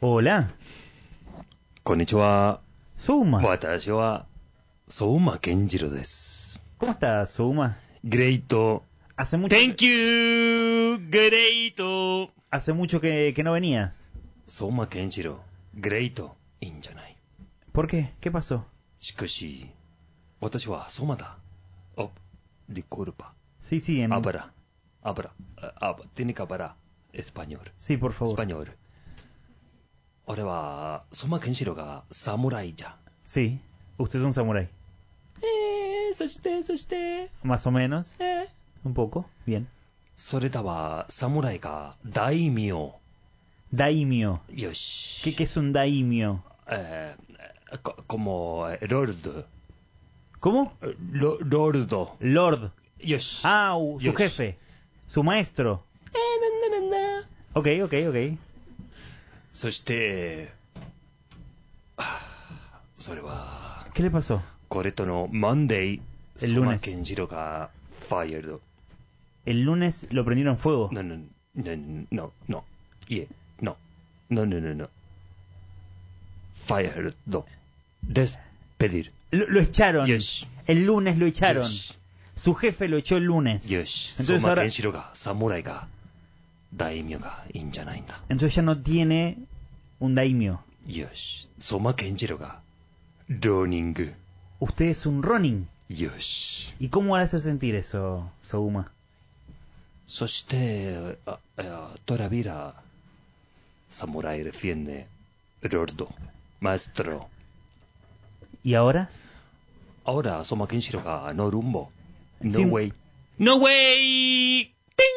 Hola, Konnichiwa. Souma. Watashi wa Souma Kenjiro desu. ¿Cómo estás, Souma? Great. Hace mucho, Thank you. Great. hace mucho que no venías. Souma Kenjiro. Great. Injanai. ¿Por qué? ¿Qué pasó? Shikashi. Watashi wa Souma da. Oh, disculpa. Sí, Habla. Tiene que hablar español. Sí, por favor. Español. 俺は相馬健志郎が侍じゃ。 Sí, usted es un samurái. そして、 Más o menos. Un poco. Bien. それだは侍が大名。 Daimyo. よし。 ¿Qué es un daimyo? Como Lord. ¿Cómo? Lord. Lord. よし。 Ah, su Yosh. jefe. Su maestro. Ok. そして、それは、 ¿Qué le pasó? これとのマンデー、 El 相馬 lunes. 健次郎がファイヤルド。 El lunes lo prendieron fuego. No. Yeah, no. Fired. Despedir. Lo echaron. Yosh. El lunes lo echaron. Yosh. Su jefe lo echó el lunes. Yosh. Entonces 相馬 ahora- 健志郎が侍が大名がいいんじゃないんだ。 Entonces ya no tiene un daimyo. よし。相馬健次郎がローニング。 Usted es un Ronin. よし。 ¿Y cómo le hace sentir eso, Souma? そして、todavía Samurai defiende Lordo, Maestro. ¿Y ahora? Ahora Soma Kenshiro ga no rumbo. No Sin- way. No way!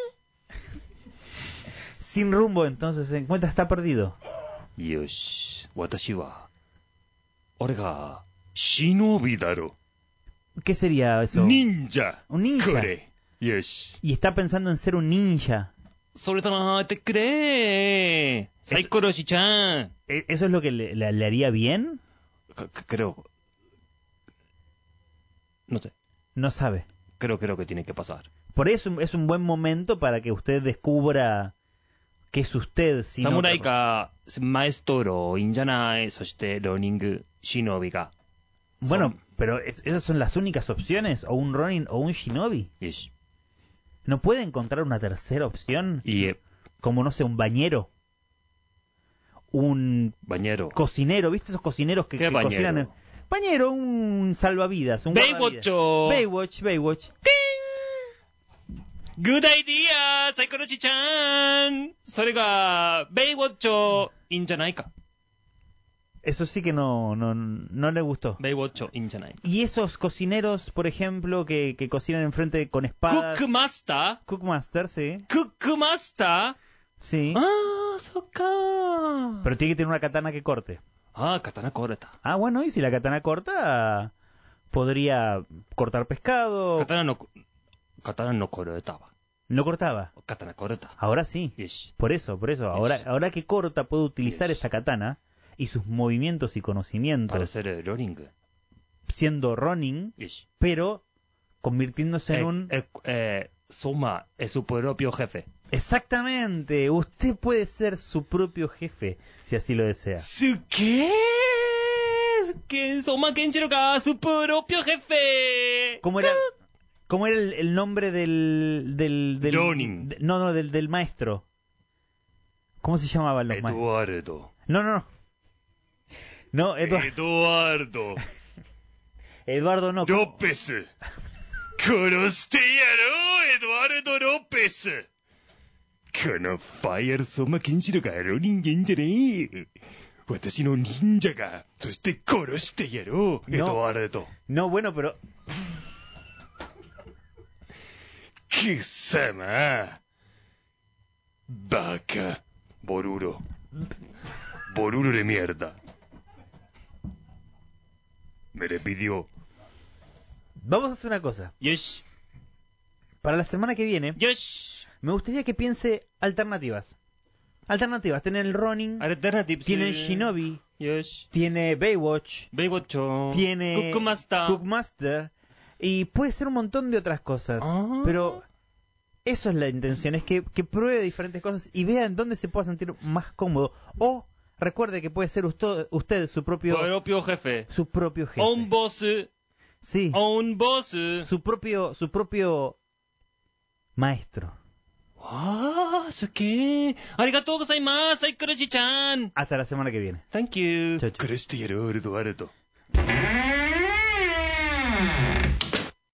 Sin rumbo, entonces se encuentra, está perdido. Yosh. Watashi wa. Ore ga shinobi daro. ¿Qué sería eso? Ninja. Un ninja. Kore. Yosh. Y está pensando en ser un ninja. それとなってくれ。サイコロシちゃん。 ¿Eso es lo que le haría bien? Creo. No sé. No sabe. Creo que tiene que pasar. Por eso es un buen momento para que usted descubra que es usted. Sin 侍 otra- かマエストロいいんじゃない。そしてローニング忍びが。 Bueno, pero ¿esas son las únicas opciones? ¿O un Ronin o un Shinobi? よし。 ¿No puede encontrar una tercera opción? いいえ。 Como, no sé, un bañero. Un バニャロ。 cocinero, ¿viste esos cocineros que ¿Qué bañero? cocinan? Bañero, un salvavidas, un ベイウォッ guardavidas. チョ。 Baywatch. グッドアイディアサイコロシちゃん。それがベイウォッチョいいんじゃないか。 Eso sí que no le gustó. ベイウォッチョいいんじゃない。 Y esos cocineros, por ejemplo, que cocinan enfrente con クッ espadas. クマスタ Cookmaster, sí. ークックマスター Sí. あー、そっかー。 Pero tiene que tener una katana que corte. あー、刀壊れた。 Ah, bueno, y si la katana corta, podría cortar pescado. 刀の壊れたわ。 No cortaba. 刀壊れた。 Ahora sí. よし。 Por eso. Ahora que corta, puede utilizar esa katana y sus movimientos y パレ conocimientos セルローニング。 siendo Ronin, よし。 pero convirtiéndose en un... Soma es su propio jefe. Exactamente. Usted puede ser su propio jefe, si así lo desea. すっげーSoma Kenshiro ga su propio jefe. ¿Cómo era el nombre del Ronin. Del maestro? ¿Cómo se llamaban los maestros? Eduardo. No, Eduardo. Eduardo no. ¿cómo? López. 殺してやろう、エドワルド・ロペス。このファイアル相馬健志郎がロ人間じゃねえ。私の忍者が、そして殺してやろう、エドワルド。 No, bueno, pero... 貴様。バカ。ボルロde mierda. Me le pidió. Vamos a hacer una cosa. Yes. Para la semana que viene, Yes. me gustaría que piense alternativas. Alternativas. Tiene el Ronin, Alternatives. tiene el Shinobi, Yes. tiene Baywatch, Baywatch. tiene Cookmaster, y puede ser un montón de otras cosas. Ah. Pero eso es la intención, es que pruebe diferentes cosas y vea en dónde se pueda sentir más cómodo. O Recuerde que puede ser usted su propio jefe. su propio jefe. Un boss. Sí. Un boss. Su propio maestro. Ah, suke. Arigatou gozaimasu, Kuroshi-chan. Hasta la semana que viene. Thank you. Chau, chau. 殺してやろう、エドワルド。